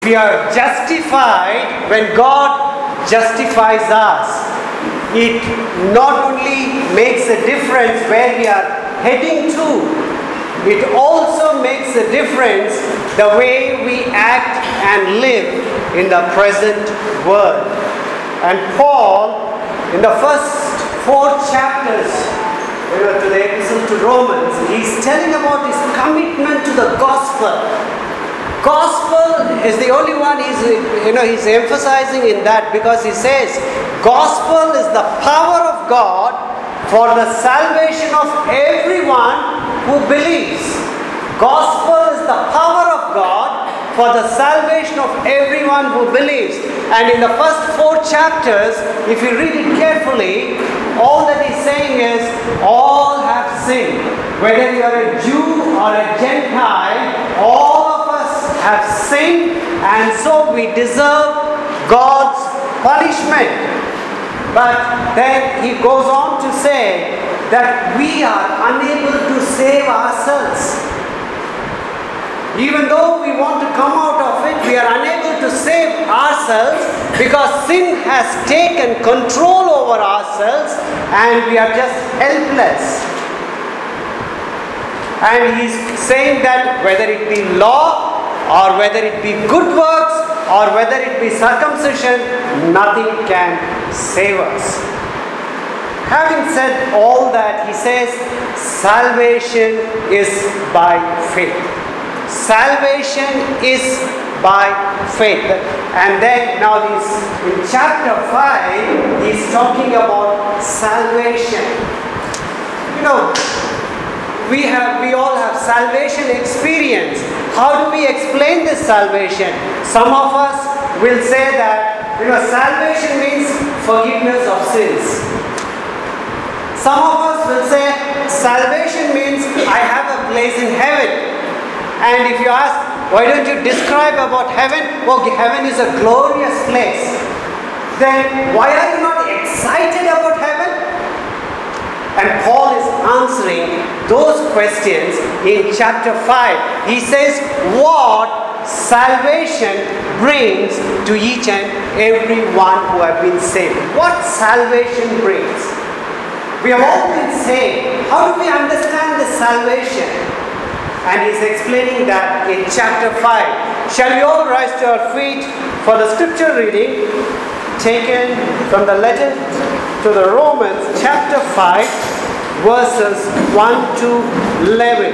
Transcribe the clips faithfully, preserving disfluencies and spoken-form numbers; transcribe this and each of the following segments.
We are justified when God justifies us. It not only makes a difference where we are heading to, it also makes a difference the way we act and live in the present world. And Paul, in the first four chapters, you know, to the epistle to Romans, he's telling about his commitment to the gospel. Gospel is the only one he's, you know, he's emphasizing in that, because he says gospel is the power of God for the salvation of everyone who believes. Gospel is the power of God for the salvation of everyone who believes. And in the first four chapters, if you read it carefully, all that he's saying is all have sinned. Whether you are a Jew or a Gentile, all have sinned, and so we deserve God's punishment. But then he goes on to say that we are unable to save ourselves. Even though we want to come out of it, we are unable to save ourselves because sin has taken control over ourselves and we are just helpless. And he's saying that whether it be law, or whether it be good works, or whether it be circumcision, nothing can save us. Having said all that, he says, salvation is by faith. Salvation is by faith. And then now he's in chapter five, he's talking about salvation. You know, we have, we all have salvation experience. How do we explain this salvation? Some of us will say that, you know, salvation means forgiveness of sins. Some of us will say salvation means I have a place in heaven. And if you ask, why don't you describe about heaven? Well, heaven is a glorious place. Then why are you not excited about heaven? And Paul is answering those questions in chapter five. He says what salvation brings to each and every one who have been saved. What salvation brings. We have all been saved. How do we understand this salvation? And he's explaining that in chapter five. Shall we all rise to our feet for the scripture reading taken from the letter to the Romans, chapter five, verses one to eleven.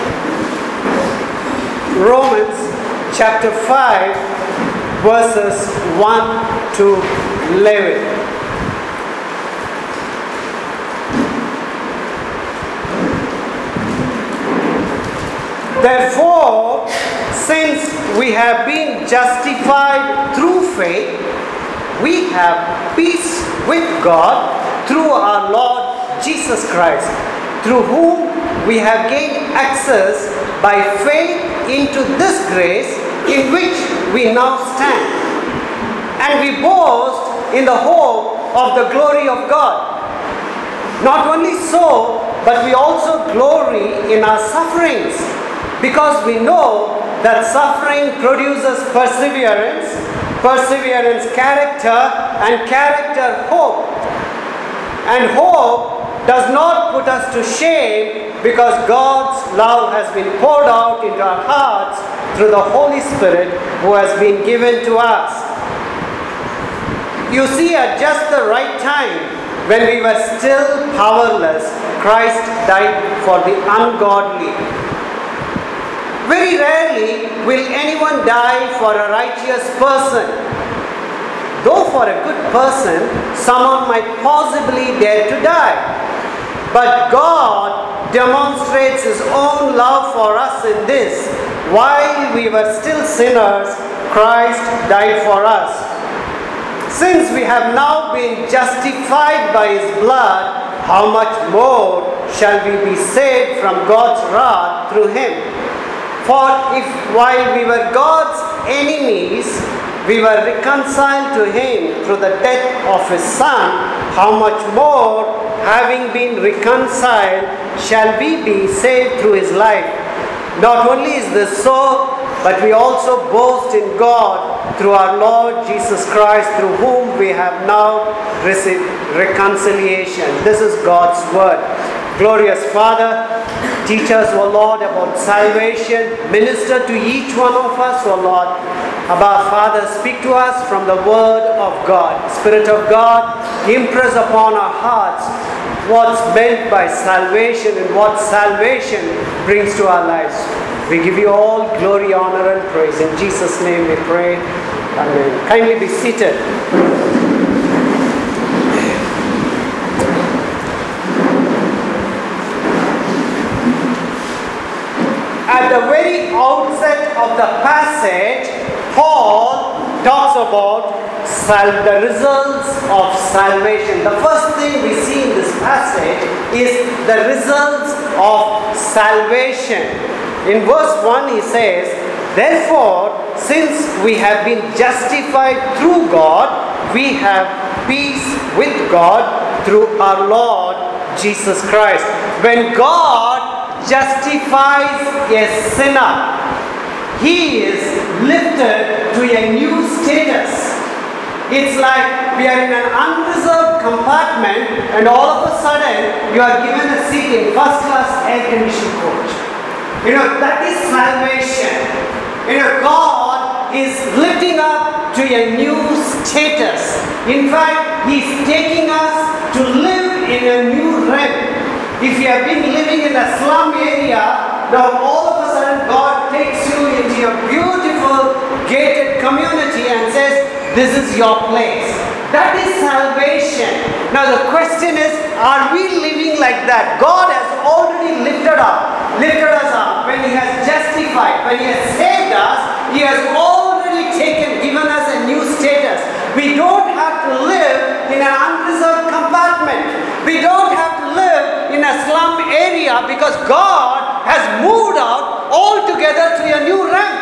Romans, chapter five, verses one to eleven. Therefore, since we have been justified through faith, we have peace with God through our Lord Jesus Christ, through whom we have gained access by faith into this grace in which we now stand. And we boast in the hope of the glory of God. Not only so, but we also glory in our sufferings, because we know that suffering produces perseverance, perseverance character, and character hope. And hope does not put us to shame, because God's love has been poured out into our hearts through the Holy Spirit who has been given to us. You see, at just the right time, when we were still powerless, Christ died for the ungodly. Very rarely will anyone die for a righteous person. Though for a good person, someone might possibly dare to die. But God demonstrates His own love for us in this: while we were still sinners, Christ died for us. Since we have now been justified by His blood, how much more shall we be saved from God's wrath through Him? For if while we were God's enemies, we were reconciled to Him through the death of His Son, how much more, having been reconciled, shall we be saved through His life? Not only is this so, but we also boast in God through our Lord Jesus Christ, through whom we have now received reconciliation. This is God's word. Glorious Father, teach us, O Lord, about salvation. Minister to each one of us, O Lord. Abba, Father, speak to us from the word of God. Spirit of God, impress upon our hearts what's meant by salvation and what salvation brings to our lives. We give you all glory, honor, and praise. In Jesus' name we pray. Amen. Kindly be seated. At the very outset of the passage, Paul talks about sal- the results of salvation. The first thing we see in this passage is the results of salvation. In verse one he says, therefore, since we have been justified through God, we have peace with God through our Lord Jesus Christ. When God justifies a sinner, he is lifted to a new status. It's like we are in an unreserved compartment and all of a sudden you are given a seat in first class air conditioned coach. You know, that is salvation. You know, God is lifting up to a new status. In fact, He is taking us to live in a new realm. If you have been living in a slum area, now all of a sudden God takes you into a beautiful gated community and says, this is your place. That is salvation. Now the question is, are we living like that? God has already lifted up, lifted us up. When He has justified, when He has saved us, He has already taken, given us a new status. We don't have to live in an unreserved compartment. We don't have to live in a slum area because God has moved out altogether to a new realm.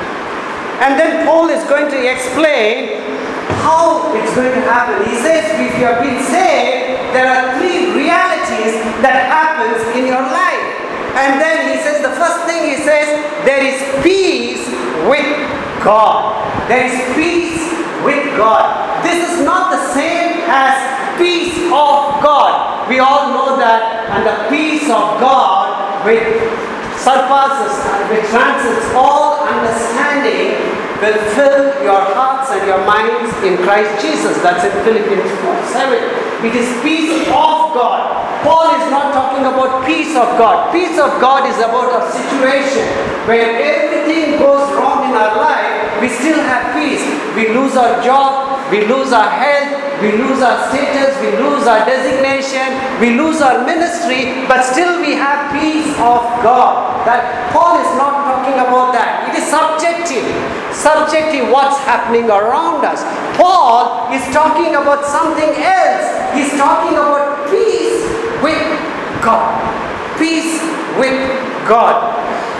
And then Paul is going to explain how it's going to happen. He says, if you have been saved, there are three realities that happens in your life. And then he says, the first thing he says, there is peace with God. There is peace with God. This is not the same as peace of God. We all know that, and the peace of God which surpasses and which transcends all understanding will fill your hearts and your minds in Christ Jesus. That's in Philippians four seven. It is peace of God. Paul is not talking about peace of God. Peace of God is about a situation where everything goes wrong in our life, we still have peace. We lose our job, we lose our health, we lose our status, we lose our designation, we lose our ministry, but still we have peace of God. That Paul is not talking about that. It is subjective. Subjective, what's happening around us. Paul is talking about something else. He's talking about peace with God. Peace with God.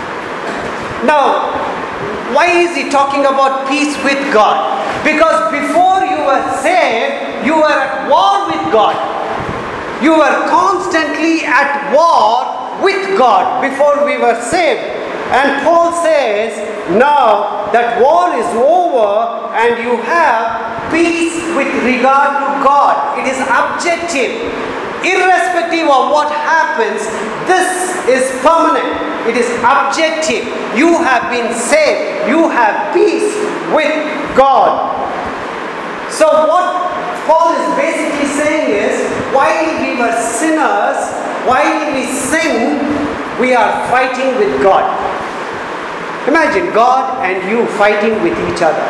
Now, why is he talking about peace with God? Because before you were saved, you were at war with God. You were constantly at war with God before we were saved. And Paul says, now that war is over and you have peace with regard to God. It is objective. Irrespective of what happens, this is permanent. It is objective. You have been saved. You have peace with God. So what Paul is basically saying is, while we were sinners, while we sin, we are fighting with God. Imagine God and you fighting with each other.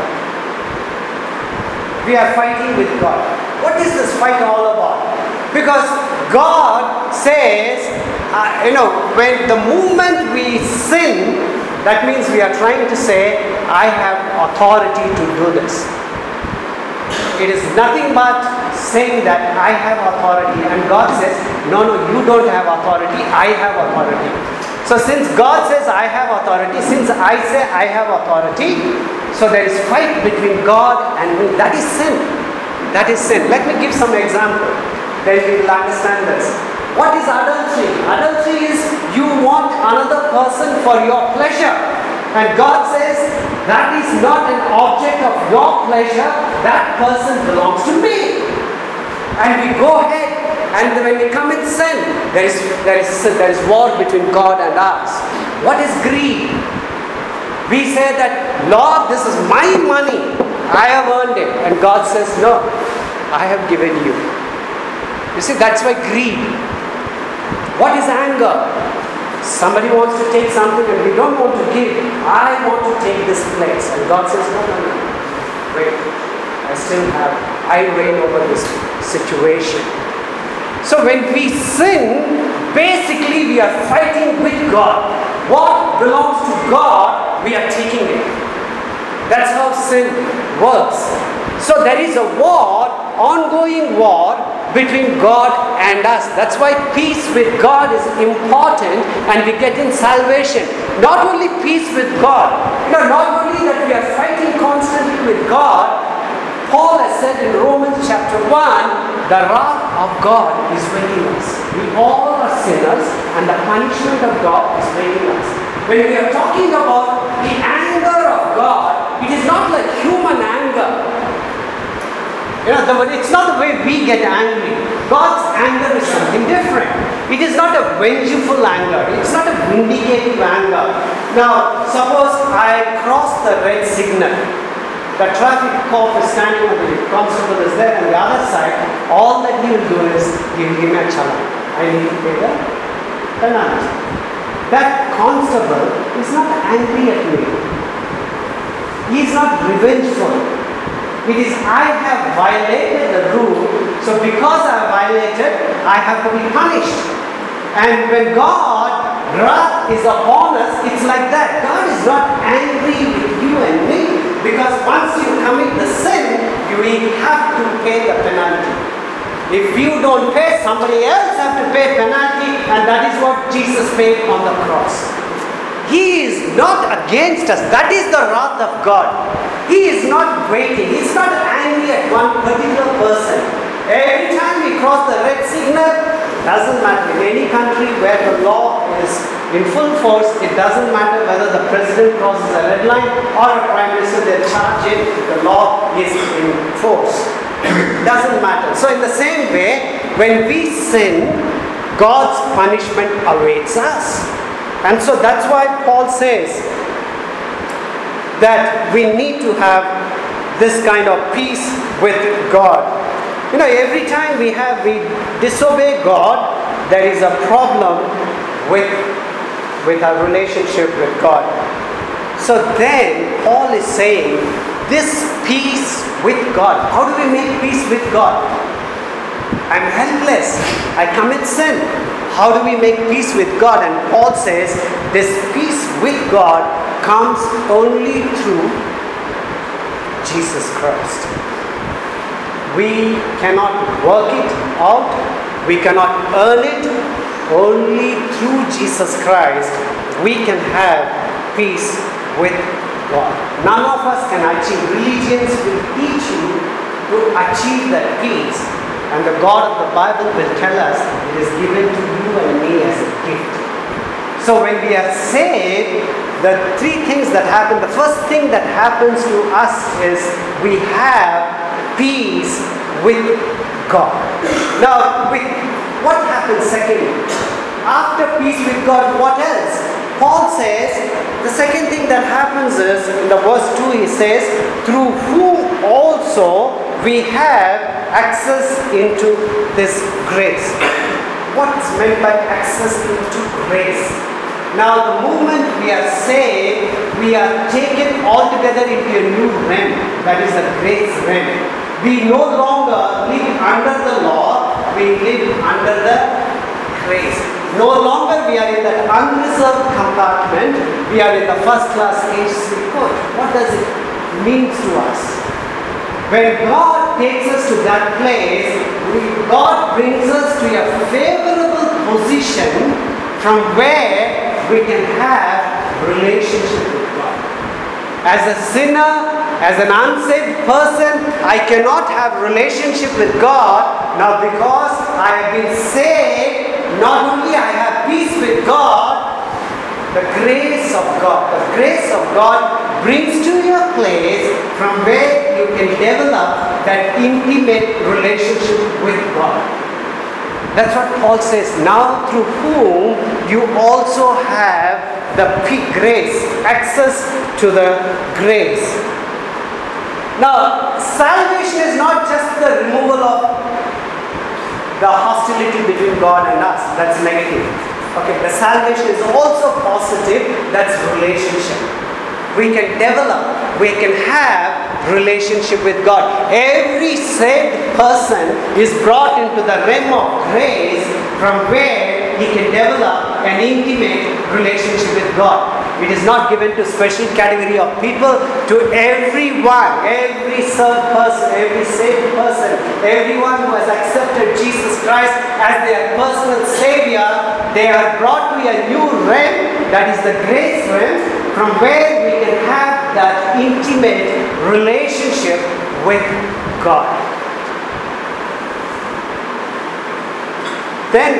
We are fighting with God. What is this fight all about? Because God says, uh, you know, when the moment we sin, that means we are trying to say, I have authority to do this. It is nothing but saying that I have authority, and God says, no, no, you don't have authority, I have authority. So since God says I have authority, since I say I have authority, so there is fight between God and me. That is sin. That is sin. Let me give some example. Then we will understand this. What is adultery? Adultery is you want another person for your pleasure. and God says, that is not an object of your pleasure, that person belongs to me. And we go ahead, and when we commit sin, there is, there is, there is war between God and us. What is greed? We say that, Lord, this is my money, I have earned it. And God says, no, I have given you. You see, that's why greed. What is anger? Somebody wants to take something and we don't want to give. I want to take this place. And God says, no, no, no. Wait, I still have, I reign over this situation. So when we sin, basically we are fighting with God. What belongs to God, we are taking it. That's how sin works. So there is a war, ongoing war between God and us. That's why peace with God is important, and we get in salvation. Not only peace with God, you know, not only that we are fighting constantly with God. Paul has said in Romans chapter one, the wrath of God is waiting us. We all are sinners, and the punishment of God is waiting us. When we are talking about the anger of God, it is not like human anger. You know, the, it's not the way we get angry. God's anger is something different. It is not a vengeful anger. It's not a vindicative anger. Now, suppose I cross the red signal. The traffic cop is standing on the constable is there, and the other side, all that he will do is he will give me a challan. I need to pay the penalty. That constable is not angry at me. He is not revengeful. It is I have violated the rule, so because I have violated, I have to be punished. And when God, wrath is upon us, it's like that. God is not angry with you and me, because once you commit the sin, you will have to pay the penalty. If you don't pay, somebody else has to pay penalty, and that is what Jesus paid on the cross. He is not against us. That is the wrath of God. He is not waiting. He is not angry at one particular person. Every time we cross the red signal, doesn't matter. In any country where the law is in full force, it doesn't matter whether the president crosses a red line or a prime minister, they charge it, the law is in force. It doesn't matter. So in the same way, when we sin, God's punishment awaits us. And so that's why Paul says that we need to have this kind of peace with God. You know, every time we have, we disobey God, there is a problem with, with our relationship with God. So then, Paul is saying, this peace with God. How do we make peace with God? I'm helpless. I commit sin. How do we make peace with God? And Paul says, this peace with God comes only through Jesus Christ. We cannot work it out. We cannot earn it. Only through Jesus Christ we can have peace with God. None of us can achieve. Religions will teach you to achieve that peace. And the God of the Bible will tell us it is given to you and me as a gift. So when we are saved, the three things that happen, the first thing that happens to us is we have peace with God. Now, with, what happens secondly? After peace with God, what else? Paul says, the second thing that happens is, in the verse two he says, through whom also we have access into this grace. What's meant by access into grace? Now the moment we are saved, we are taken altogether into a new realm, that is the grace realm. We no longer live under the law, we live under the grace. No longer we are in that unreserved compartment, we are in the first class A C coach. What does it mean to us? When God takes us to that place, we, God brings us to a favorable position from where we can have relationship with God. As a sinner, as an unsaved person, I cannot have relationship with God. Now because I have been saved, not only I have peace with God, The grace of God. The grace of God brings to you a place from where you can develop that intimate relationship with God. That's what Paul says. Now through whom you also have the grace, access to the grace. Now, salvation is not just the removal of the hostility between God and us. That's negative. Okay, the salvation is also positive. That's relationship. We can develop, we can have relationship with God. Every saved person is brought into the realm of grace from where he can develop an intimate relationship with God. It is not given to special category of people, to everyone, every served person, every saved person, everyone who has accepted Jesus Christ as their personal Savior, they are brought to a new realm, that is the grace realm, from where we can have that intimate relationship with God. Then,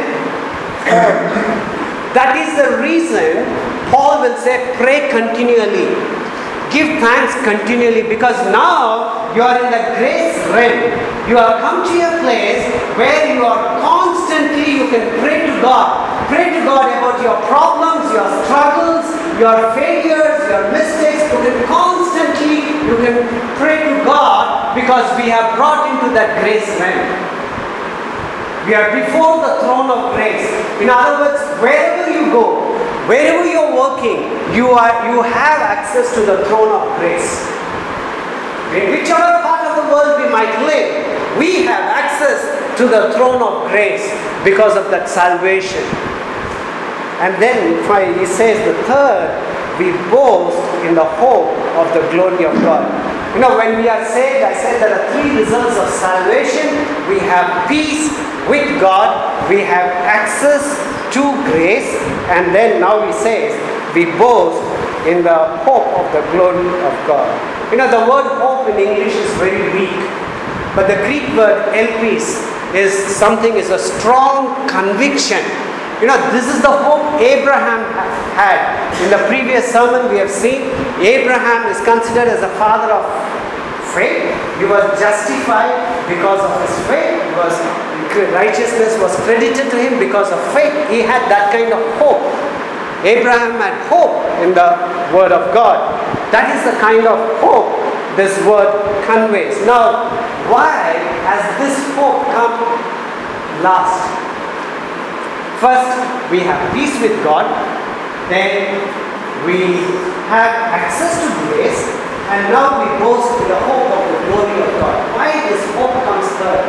that is the reason Paul will say, pray continually. Give thanks continually, because now you are in the grace realm. You have come to a place where you are constantly, you can pray to God. Pray to God about your problems, your struggles, your failures, your mistakes. You can constantly, you can pray to God, because we have brought into that grace realm. We are before the throne of grace. In other words, wherever you go, wherever you are working, you are you have access to the throne of grace. In whichever part of the world we might live, we have access to the throne of grace because of that salvation. And then he says the third, we boast in the hope of the glory of God. You know, when we are saved, I said there are three results of salvation. We have peace with God, we have access to grace, and then now he says, we boast in the hope of the glory of God. You know, the word hope in English is very weak, but the Greek word elpis is something, is a strong conviction. You know, this is the hope Abraham had. In the previous sermon we have seen, Abraham is considered as the father of faith. He was justified because of his faith. He was, righteousness was credited to him because of faith. He had that kind of hope. Abraham had hope in the word of God. That is the kind of hope this word conveys. Now, why has this hope come last? First, we have peace with God. Then we have access to grace. And now we boast in the hope of the glory of God. Why this hope comes third?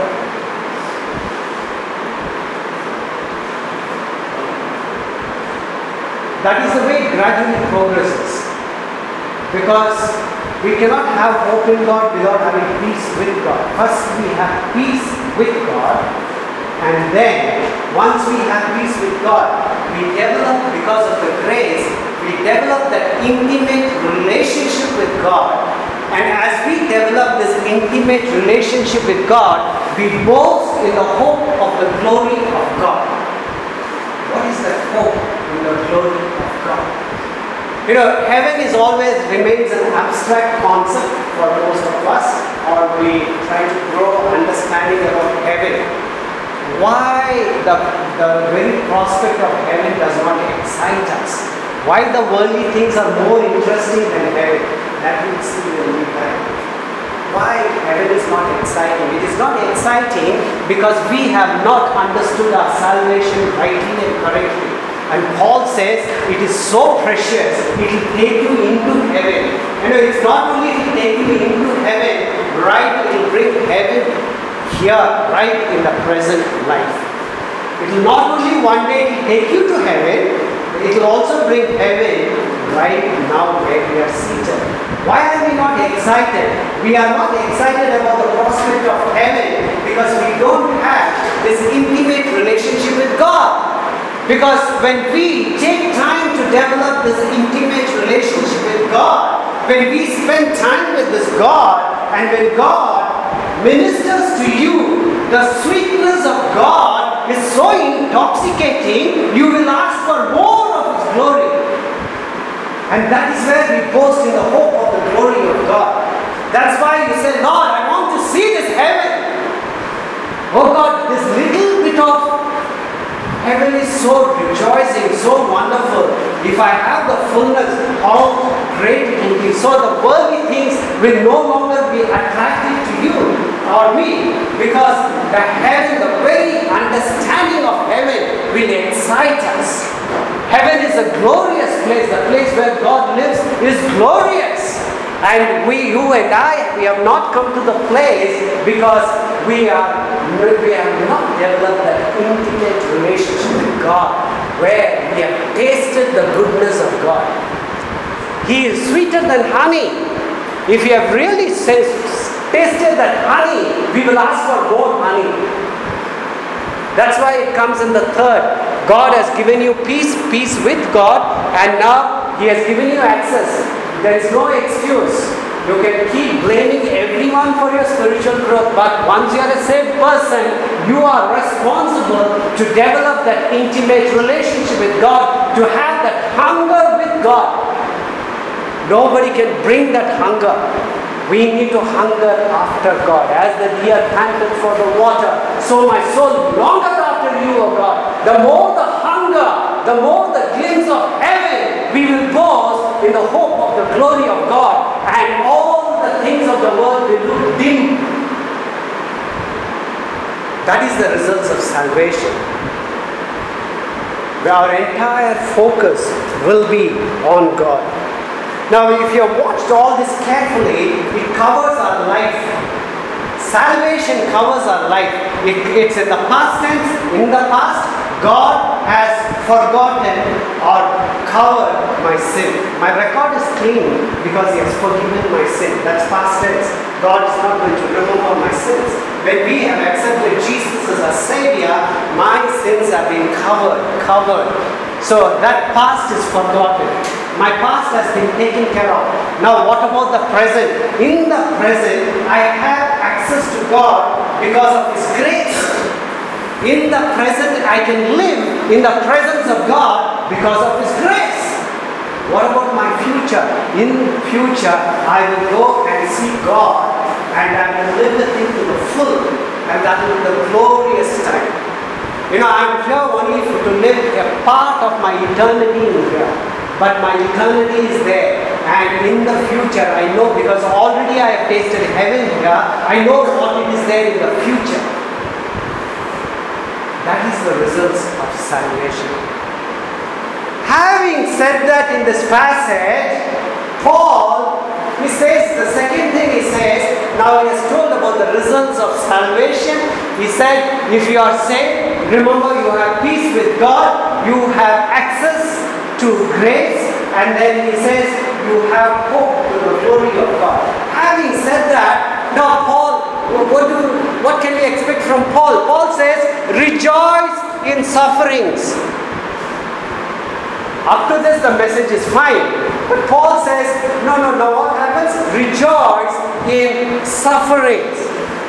That is the way it gradually progresses. Because we cannot have hope in God without having peace with God. First we have peace with God, and then once we have peace with God, we develop, because of the grace, we develop that intimate relationship with God. And as we develop this intimate relationship with God, we boast in the hope of the glory of God. What is that hope in the glory of God? You know, heaven is always remains an abstract concept for most of us, or we try to grow understanding about heaven. Why the, the very prospect of heaven does not excite us? Why the worldly things are more interesting than heaven? That we'll see when we die. Why heaven is not exciting? It is not exciting because we have not understood our salvation rightly and correctly. And Paul says it is so precious, it will take you into heaven. You know, it's not only it will take you into heaven, right? It will bring heaven here, right in the present life. It will not only one day take you to heaven, it will also bring heaven right now where we are seated. Why are we not excited? We are not excited about the prospect of heaven because we don't have this intimate relationship with God. Because when we take time to develop this intimate relationship with God, when we spend time with this God, and when God ministers to you, the sweetness of God is so intoxicating, you will ask for more of His glory. And that is where we boast in the hope of the glory of God. That's why you say, Lord, I want to see this heaven. Oh God, this little bit of heaven is so rejoicing, so wonderful. If I have the fullness, how great it will be. So the worldly things will no longer be attractive to you or me, because the heaven, the very understanding of heaven will excite us. Heaven is a glorious place. The place where God lives is glorious. And we, you and I, we have not come to the place because we are we have not developed that intimate relationship with God, where we have tasted the goodness of God. He is sweeter than honey. If you have really tasted that honey, we will ask for more honey. That's why it comes in the third. God has given you peace, peace with God, and now He has given you access. There is no excuse. You can keep blaming everyone for your spiritual growth, but once you are a saved person, you are responsible to develop that intimate relationship with God, to have that hunger with God. Nobody can bring that hunger. We need to hunger after God. As the deer panted for the water, so my soul longeth after you, O God. The more the hunger, the more the glimpse of heaven, we will boast in the hope of the glory of God, and all the things of the world will look dim. That is the results of salvation. Our entire focus will be on God. Now, if you have watched all this carefully, it covers our life. Salvation covers our life. It, it's in the past tense. In the past, God has forgotten or covered my sin. My record is clean because He has forgiven my sin. That's past tense. God is not going to remember my sins. When we have accepted Jesus as our Savior, my sins have been covered, covered. So that past is forgotten. My past has been taken care of. Now what about the present? In the present, I have access to God because of His grace. In the present, I can live in the presence of God because of His grace. What about my future? In future, I will go and see God, and I will live with Him to the full, and that will be the glorious time. You know, I am here only for to live a part of my eternity in here. But my eternity is there, and in the future I know, because already I have tasted heaven here, I know what it is there in the future. That is the results of salvation. Having said that, in this passage, Paul, he says, the second thing he says, now he has told about the results of salvation. He said, if you are saved, remember you have peace with God, you have access to grace, and then he says you have hope to the glory of God. Having said that, now Paul, what do what can we expect from Paul? Paul says, rejoice in sufferings. Up to this the message is fine, but Paul says, no, no, no, what happens? Rejoice in sufferings.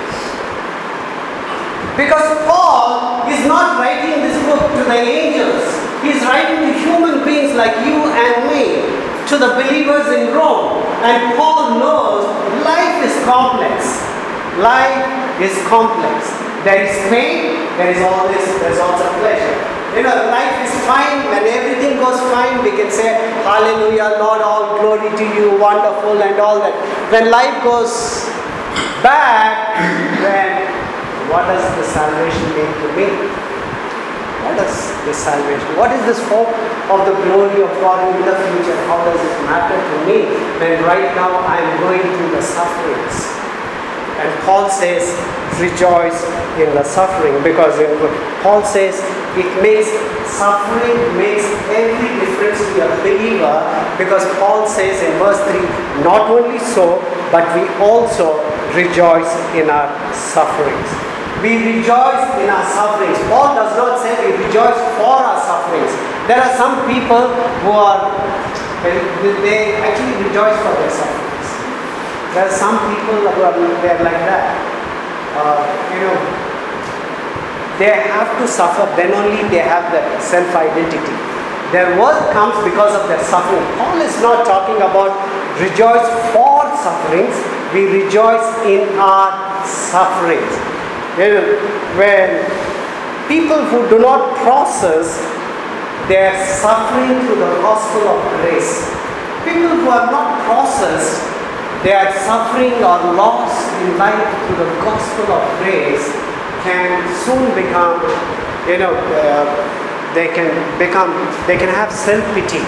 Because Paul is not writing this book to the angels. He is writing to human beings like you and me, to the believers in Rome. And Paul knows life is complex. Life is complex. There is pain, there is always, there is also pleasure. You know, life is fine. When everything goes fine, we can say, hallelujah, Lord, all glory to you, wonderful and all that. When life goes bad, then what does the salvation mean to me? What is this salvation? What is this hope of the glory of God in the future? How does it matter to me when right now I am going through the sufferings? And Paul says, rejoice in the suffering, because Paul says it makes suffering makes every difference to a believer, because Paul says in verse three, not only so, but we also rejoice in our sufferings. We rejoice in our sufferings. Paul does not say we rejoice for our sufferings. There are some people who are, they actually rejoice for their sufferings. There are some people who are they're like that. Uh, you know, they have to suffer, then only they have that self-identity. Their worth comes because of their suffering. Paul is not talking about rejoice for sufferings. We rejoice in our sufferings. You know, when people who do not process their suffering through the gospel of grace, people who have not processed their suffering or loss in life through the gospel of grace, can soon become, you know, uh, they can become, they can have self-pity.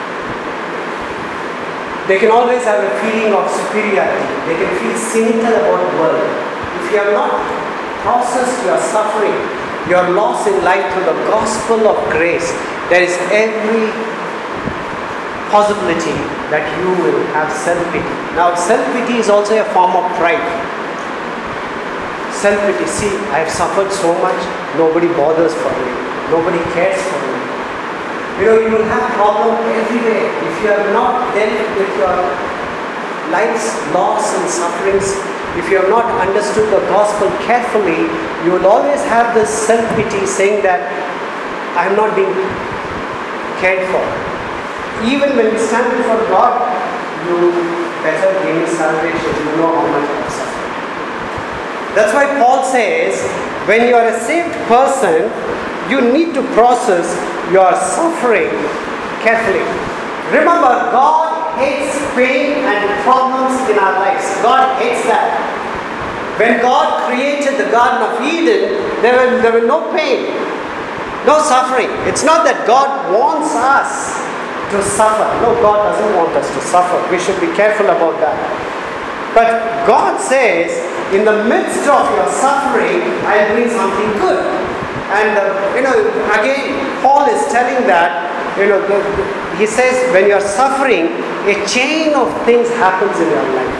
They can always have a feeling of superiority. They can feel cynical about the world. If you have not processed your suffering, your loss in life through the gospel of grace, there is every possibility that you will have self-pity. Now, self-pity is also a form of pride. Self-pity, see, I have suffered so much, nobody bothers for me, nobody cares for me. You know, you will have problems everywhere. If you have not dealt with your life's loss and sufferings, if you have not understood the gospel carefully, you will always have this self-pity saying that I am not being cared for. Even when you stand before God, you better gain salvation. You know how much I have suffered. That's why Paul says, when you are a saved person, you need to process your suffering carefully. Remember, God hates pain and problems in our lives. God hates that. When God created the Garden of Eden, there were, there were no pain, no suffering. It's not that God wants us to suffer. No, God doesn't want us to suffer. We should be careful about that. But God says, in the midst of your suffering, I'll bring something good. And, uh, you know, again, Paul is telling that, you know, the, the, he says, when you're suffering, a chain of things happens in your life.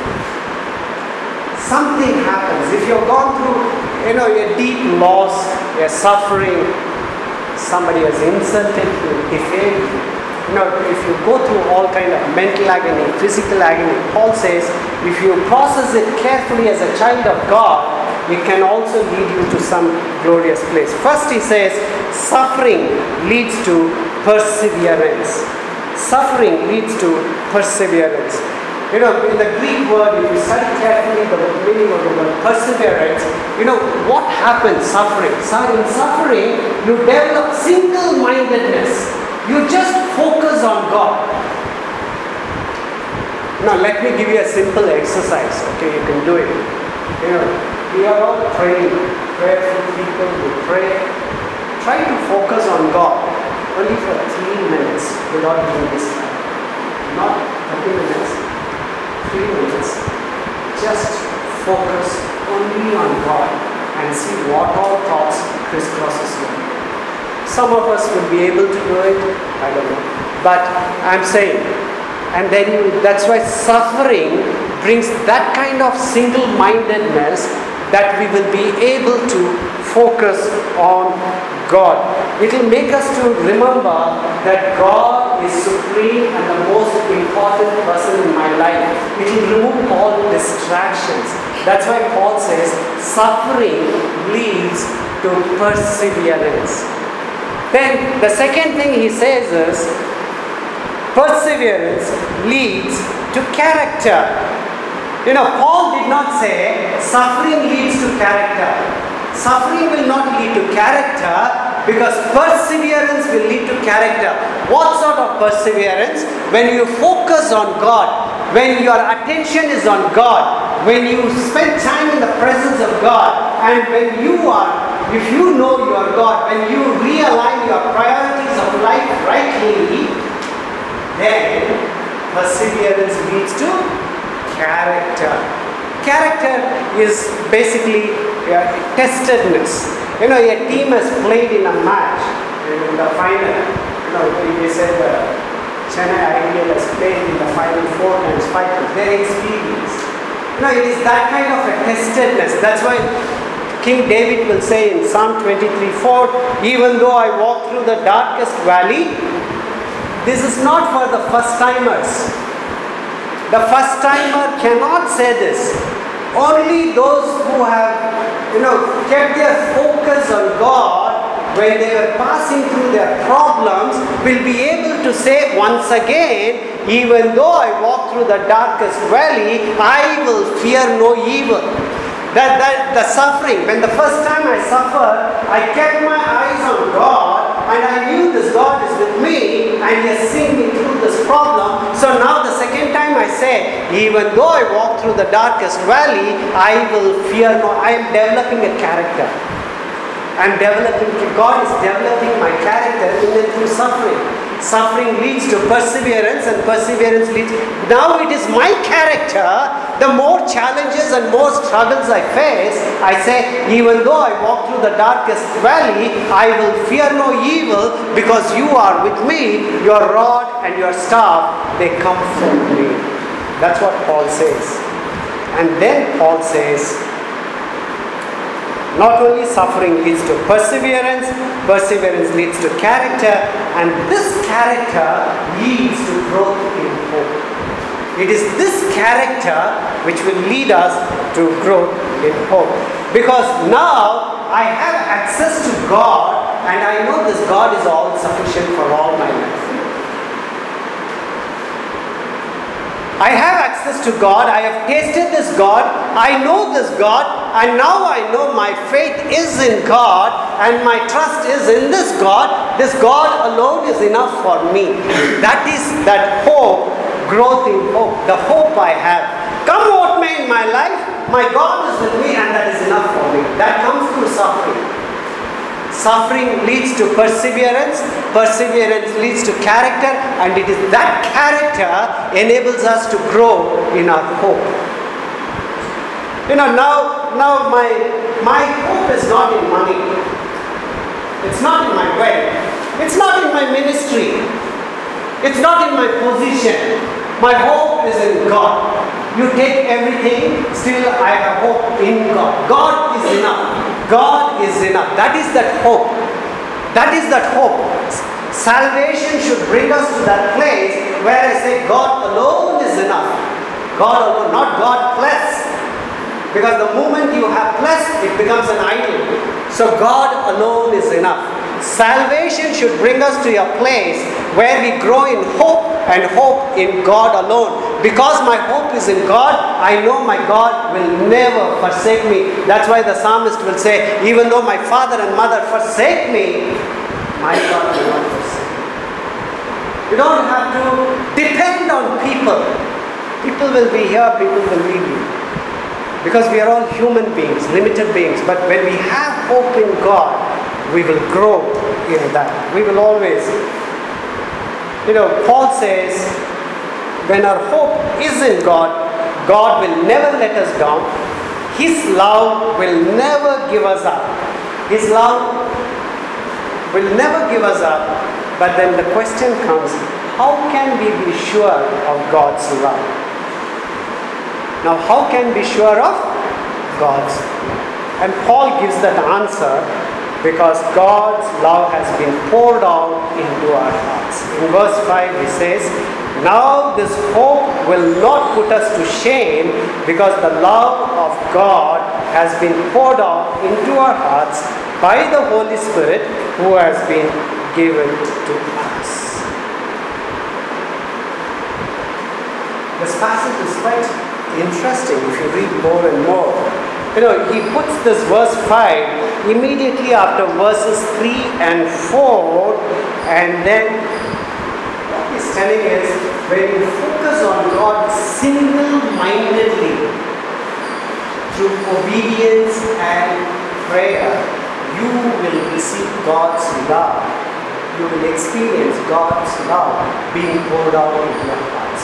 Something happens. If you've gone through, you know, a deep loss, a suffering, somebody has insulted you, defamed you. You know, if you go through all kind of mental agony, physical agony, Paul says, if you process it carefully as a child of God, it can also lead you to some glorious place. First he says, suffering leads to perseverance. Suffering leads to perseverance. You know, in the Greek word, if you study carefully the meaning of the word perseverance, you know, what happens suffering? So in suffering, you develop single-mindedness. You just focus on God. Now let me give you a simple exercise. Okay, you can do it. You know, we are all praying, prayerful people who pray. Try to focus on God only for three minutes without being distracted. Not thirty minutes, three minutes. Just focus only on God and see what all thoughts crisscrosses your mind. Some of us will be able to do it, I don't know. But I'm saying, and then you, that's why suffering brings that kind of single-mindedness that we will be able to focus on God. It will make us to remember that God is supreme and the most important person in my life. It will remove all distractions. That's why Paul says, suffering leads to perseverance. Then the second thing he says is, perseverance leads to character. You know, Paul did not say suffering leads to character. Suffering will not lead to character because perseverance will lead to character. What sort of perseverance? When you focus on God, when your attention is on God, when you spend time in the presence of God, and when you are If you know your God, when you realign your priorities of life rightly, then perseverance leads to character. Character is basically uh, testedness. You know, a team has played in a match, in the final. You know, they said uh, Chennai Ideal has played in the final four times, five times. Their experience. You know, it is that kind of a testedness. That's why King David will say in Psalm twenty-three four, even though I walk through the darkest valley, this is not for the first timers. The first timer cannot say this. Only those who have, you know, kept their focus on God when they were passing through their problems, will be able to say once again, even though I walk through the darkest valley, I will fear no evil. That, that the suffering, when the first time I suffered, I kept my eyes on God, and I knew this God is with me, and He has seen me through this problem. So now the second time I say, even though I walk through the darkest valley, I will fear no. I am developing a character. I am developing, God is developing my character in and through suffering. Suffering leads to perseverance, and perseverance leads. Now it is my character. The more challenges and more struggles I face, I say, even though I walk through the darkest valley, I will fear no evil, because you are with me. Your rod and your staff, they comfort me. That's what Paul says. And then Paul says, not only suffering leads to perseverance, perseverance leads to character, and this character leads to growth in hope. It is this character which will lead us to growth in hope. Because now I have access to God, and I know this God is all sufficient for all my life. I have access to God, I have tasted this God, I know this God, and now I know my faith is in God, and my trust is in this God. This God alone is enough for me. That is that hope, growth in hope, the hope I have. Come what may in my life, my God is with me, and that is enough for me. That comes through suffering. Suffering leads to perseverance, perseverance leads to character, and it is that character enables us to grow in our hope. You know, now, now my, my hope is not in money. It's not in my wealth. It's not in my ministry. It's not in my position. My hope is in God. You take everything, still I have hope in God. God is enough. God is enough. That is that hope. That is that hope. Salvation should bring us to that place where I say God alone is enough. God alone, not God plus. Because the moment you have plus, it becomes an idol. So God alone is enough. Salvation should bring us to a place where we grow in hope, and hope in God alone. Because my hope is in God, I know my God will never forsake me. That's why the psalmist will say, even though my father and mother forsake me, my God will not forsake me. You don't have to depend on people. People will be here, people will leave you. Because we are all human beings, limited beings. But when we have hope in God, we will grow in that. We will always. You know, Paul says, when our hope is in God, God will never let us down. His love will never give us up. His love will never give us up. But then the question comes, how can we be sure of God's love? Now, how can we be sure of God's love? And Paul gives that answer because God's love has been poured out into our hearts. In verse five he says, now this hope will not put us to shame, because the love of God has been poured out into our hearts by the Holy Spirit who has been given to us. This passage is quite interesting if you read more and more. You know, he puts this verse five immediately after verses three and four, and then what he's telling is, when you focus on God single-mindedly through obedience and prayer, you will receive God's love. You will experience God's love being poured out into your hearts.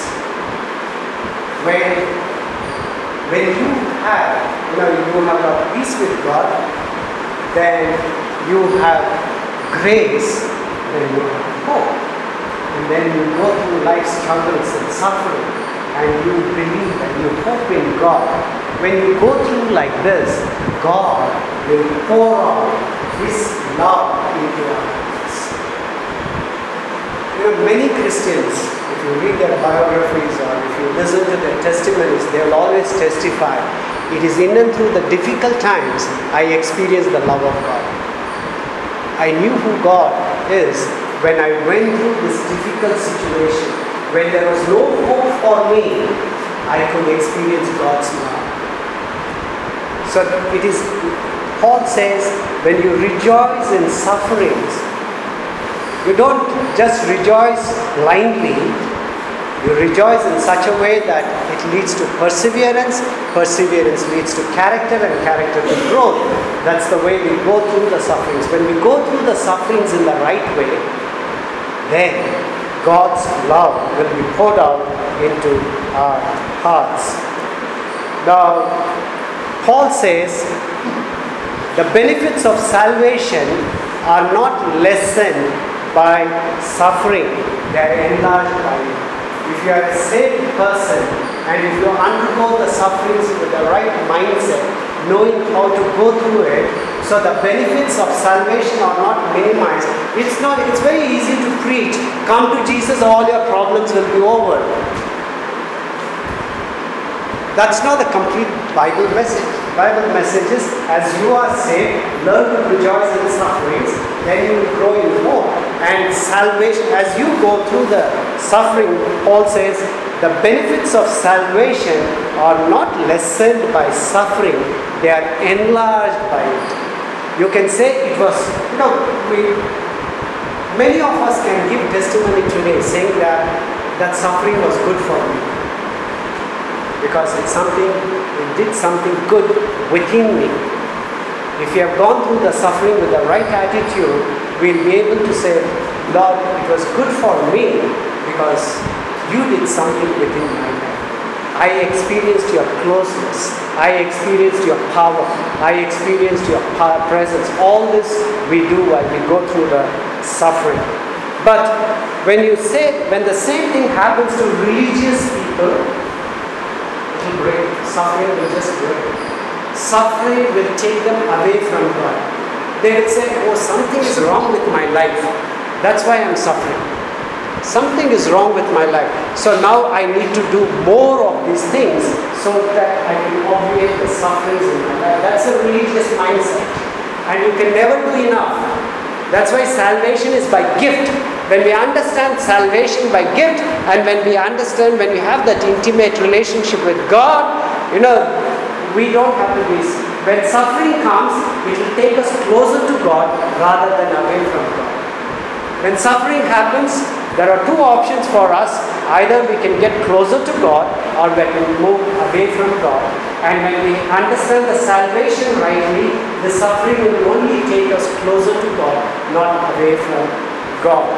When When you have, you know, you have a peace with God, then you have grace, then you have hope. And then you go through life's struggles and suffering, and you believe and you hope in God. When you go through like this, God will pour out His love into our hearts. You know, many Christians, if you read their biographies or if you listen to their testimonies, they will always testify, it is in and through the difficult times I experience the love of God. I knew who God is when I went through this difficult situation. When there was no hope for me, I could experience God's love. So it is, Paul says, when you rejoice in sufferings, you don't just rejoice blindly. You rejoice in such a way that it leads to perseverance, perseverance leads to character, and character to growth. That's the way we go through the sufferings. When we go through the sufferings in the right way, then God's love will be poured out into our hearts. Now, Paul says, the benefits of salvation are not lessened by suffering, they are enlarged by it. If you are a saved person and if you undergo the sufferings with the right mindset, knowing how to go through it, so the benefits of salvation are not minimized. It's not. It's very easy to preach. Come to Jesus, all your problems will be over. That's not the complete Bible message. Bible message is, as you are saved, learn to rejoice in sufferings, then you will grow in hope. And salvation, as you go through the suffering, Paul says, the benefits of salvation are not lessened by suffering, they are enlarged by it. You can say it was, you know, we, many of us can give testimony today saying that that suffering was good for me. Because it's something, it did something good within me. If you have gone through the suffering with the right attitude, we'll be able to say, Lord, it was good for me because you did something within my life. I experienced your closeness. I experienced your power. I experienced your power, presence. All this we do while we go through the suffering. But when you say, when the same thing happens to religious people, it will break. Suffering will just break. Suffering will take them away from God. They will say, oh, something is wrong with my life. That's why I'm suffering. Something is wrong with my life. So now I need to do more of these things so that I can obviate the sufferings in my life. That's a religious mindset. And you can never do enough. That's why salvation is by gift. When we understand salvation by gift, and when we understand, when we have that intimate relationship with God, you know, we don't have to be. When suffering comes, it will take us closer to God rather than away from God. When suffering happens, there are two options for us. Either we can get closer to God or we can move away from God. And when we understand the salvation rightly, the suffering will only take us closer to God, not away from God.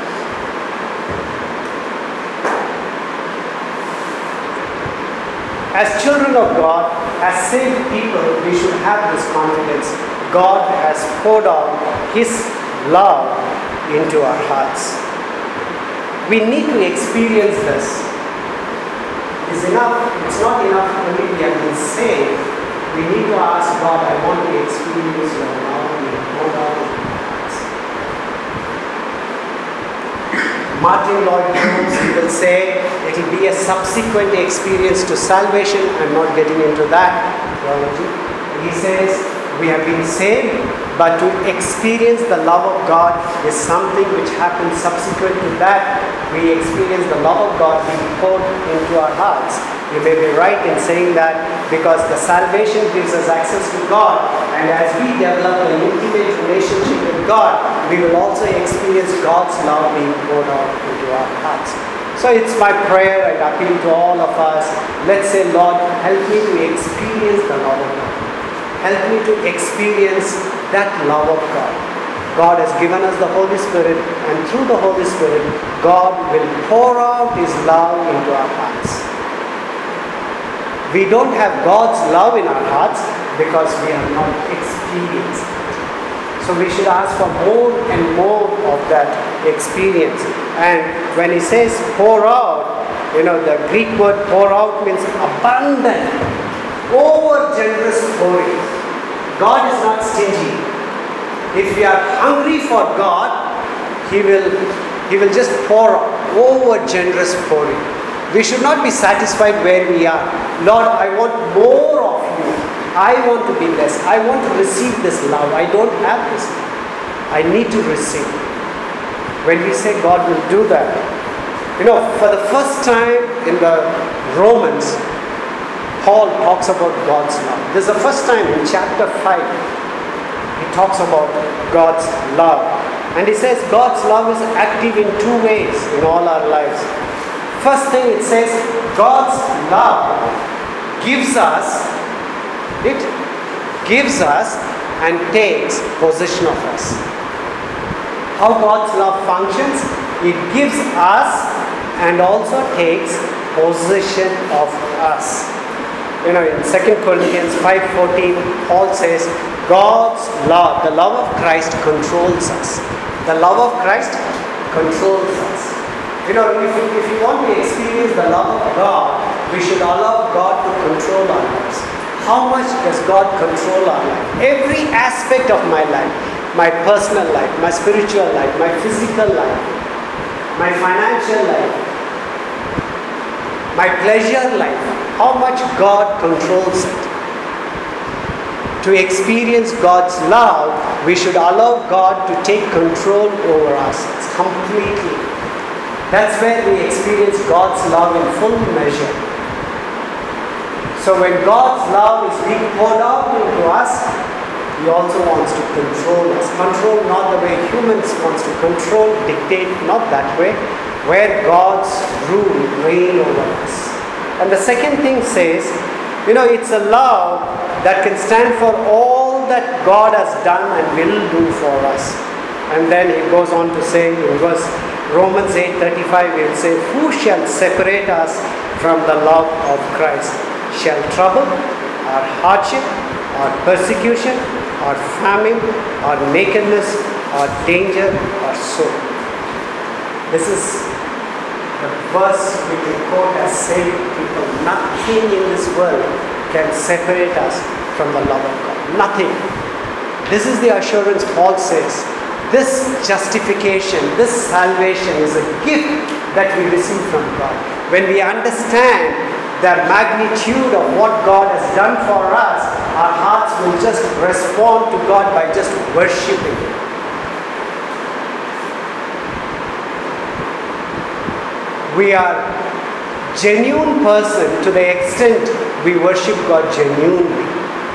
As children of God, as saved people, we should have this confidence. God has poured out His love into our hearts. We need to experience this. It's enough, it's not enough only we have been saved. We need to ask God, I want to experience your love being poured out in my hearts. Martin Lloyd Jones, he will say, it will be a subsequent experience to salvation. I'm not getting into that theology. He says, we have been saved, but to experience the love of God is something which happens subsequent to that. We experience the love of God being poured into our hearts. You may be right in saying that because the salvation gives us access to God, and as we develop an intimate relationship with God, we will also experience God's love being poured out into our hearts. So it's my prayer and appeal to all of us. Let's say, Lord, help me to experience the love of God. Help me to experience that love of God. God has given us the Holy Spirit, and through the Holy Spirit, God will pour out His love into our hearts. We don't have God's love in our hearts because we have not experienced it. So we should ask for more and more of that experience. And when He says pour out, you know, the Greek word pour out means abundant, over generous pouring. God is not stingy. If we are hungry for God, He will, He will just pour out, over generous pouring. We should not be satisfied where we are. Lord, I want more of you. I want to be less. I want to receive this love. I don't have this love. I need to receive. When we say God will do that, you know, for the first time in the Romans, Paul talks about God's love. This is the first time in chapter five, he talks about God's love. And he says God's love is active in two ways in all our lives. First thing it says, God's love gives us, it gives us and takes possession of us. How God's love functions, it gives us and also takes possession of us. You know, in Second Corinthians five fourteen, Paul says, God's love, the love of Christ controls us. The love of Christ controls us. You know, if you, if you want to experience the love of God, we should allow God to control our lives. How much does God control our life? Every aspect of my life, my personal life, my spiritual life, my physical life, my financial life, my pleasure life, how much God controls it. To experience God's love, we should allow God to take control over us completely. That's where we experience God's love in full measure. So when God's love is being poured out into us, He also wants to control us. Control not the way humans wants to control, dictate, not that way. Where God's rule reign over us. And the second thing says, you know, it's a love that can stand for all that God has done and will do for us. And then he goes on to say in verse Romans eight thirty-five, he will say, who shall separate us from the love of Christ? Shall trouble, or hardship, or persecution, or famine, or nakedness, or danger, or sword? This is the verse we can quote as saved people. Nothing in this world can separate us from the love of God. Nothing. This is the assurance Paul says. This justification, this salvation is a gift that we receive from God. When we understand the magnitude of what God has done for us, our hearts will just respond to God by just worshiping Him. We are genuine person to the extent we worship God genuinely.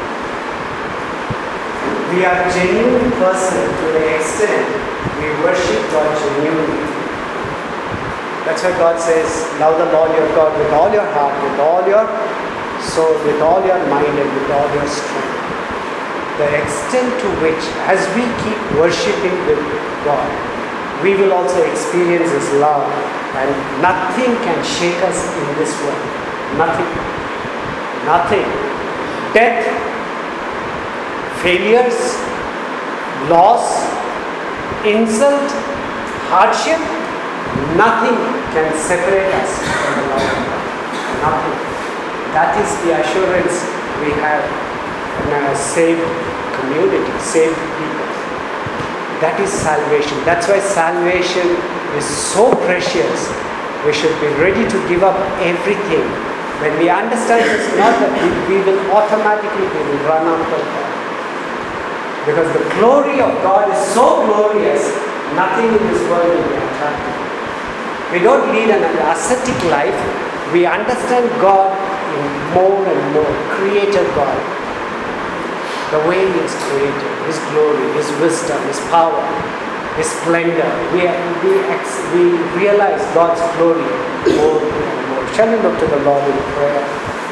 We are genuine person to the extent we worship God genuinely. That's why God says, love the Lord your God with all your heart, with all your soul, with all your mind, and with all your strength. The extent to which, as we keep worshiping with God, we will also experience His love, and nothing can shake us in this world. Nothing. Nothing. Death, failures, loss, insult, hardship, nothing can separate us from the love of God. Nothing. That is the assurance we have in a saved community, saved people. That is salvation. That's why salvation is so precious. We should be ready to give up everything. When we understand it's not that we, we will automatically we will run after God. Because the glory of God is so glorious, nothing in this world will be attractive. We don't lead an ascetic life. We understand God in more and more. Creator God. The way He is created, His glory, His wisdom, His power, His splendor. We, we, we realize God's glory more and more. Shall we look to the Lord in prayer?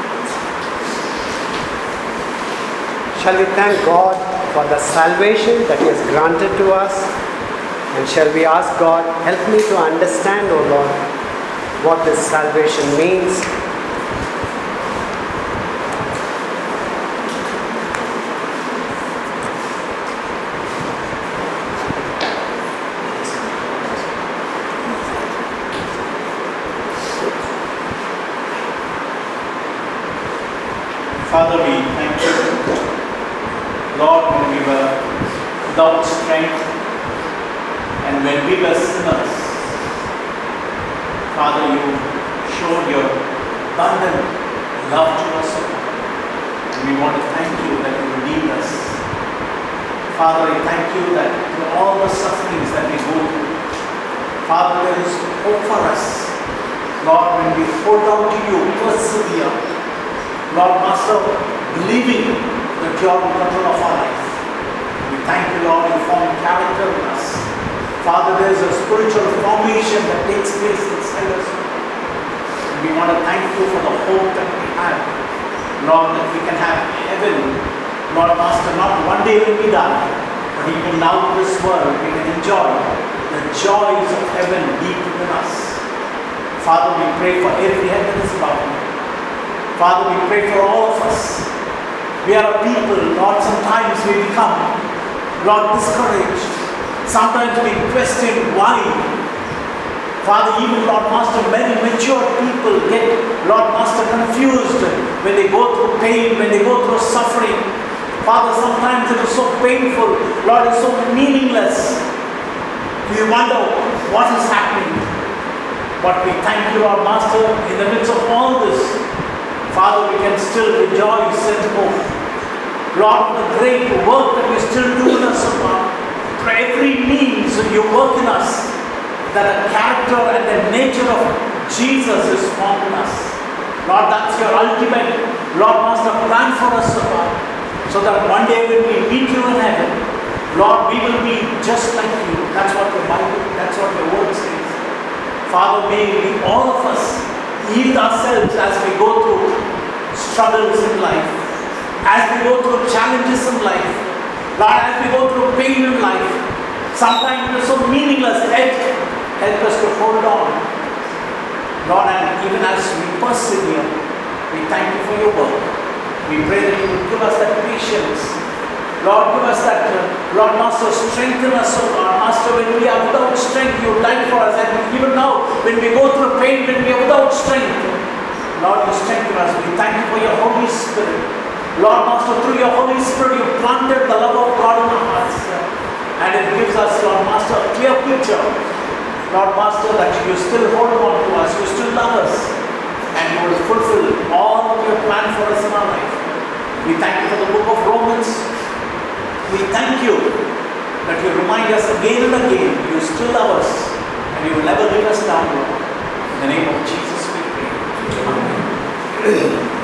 Shall we thank God for the salvation that He has granted to us? And shall we ask God, help me to understand, O Lord, what this salvation means? Father, we thank you. Lord, when we were without strength and when we were sinners, Father, you showed your abundant love to us. And we want to thank you that you redeemed us Father, I thank you that through all the sufferings that we go through, Father, there is hope for us. Lord, when we hold on to you, persevere. Lord, Master, believing that you are in control of our life. We thank you, Lord, you form character in us. Father, there is a spiritual formation that takes place inside us. And we want to thank you for the hope that we have. Lord, that we can have heaven. Lord, Master, not one day will be done, but even now in this world we can enjoy the joys of heaven deep within us. Father, we pray for every head that is bowed. Father, we pray for all of us. We are a people, Lord, sometimes we become, Lord, discouraged. Sometimes we question why. Father, even Lord Master, many mature people get, Lord Master, confused when they go through pain, when they go through suffering. Father, sometimes it is so painful. Lord, it's so meaningless. We wonder what is happening. But we thank you, Lord Master, in the midst of all this, Father, we can still rejoice and hope. Lord, the great work that we still do in us, Lord, for every means you work in us, that the character and the nature of Jesus is formed in us. Lord, that's your ultimate, Lord Master, plan for us, Lord. So that one day when we meet you in heaven, Lord, we will be just like you. That's what the Bible, that's what your word says. Father, may we, all of us, yield ourselves as we go through struggles in life, as we go through challenges in life, Lord, as we go through pain in life. Sometimes it is so meaningless, yet help us to hold on. Lord, and even as we persevere, we thank you for your work. We pray that you will give us that patience. Lord, give us that, uh, Lord Master, strengthen us, oh God. Master, when we are without strength, you died for us. And even now, when we go through pain, when we are without strength, Lord, you strengthen us. We thank you for your Holy Spirit. Lord Master, through your Holy Spirit, you planted the love of God in our hearts. And it gives us, Lord Master, a clear picture, Lord Master, that you still hold on to us, you still love us, and you will fulfill all of your plan for us in our life. We thank you for the book of Romans. We thank you that you remind us again and again, you still love us, and you will never leave us down. In the name of Jesus we pray. Amen.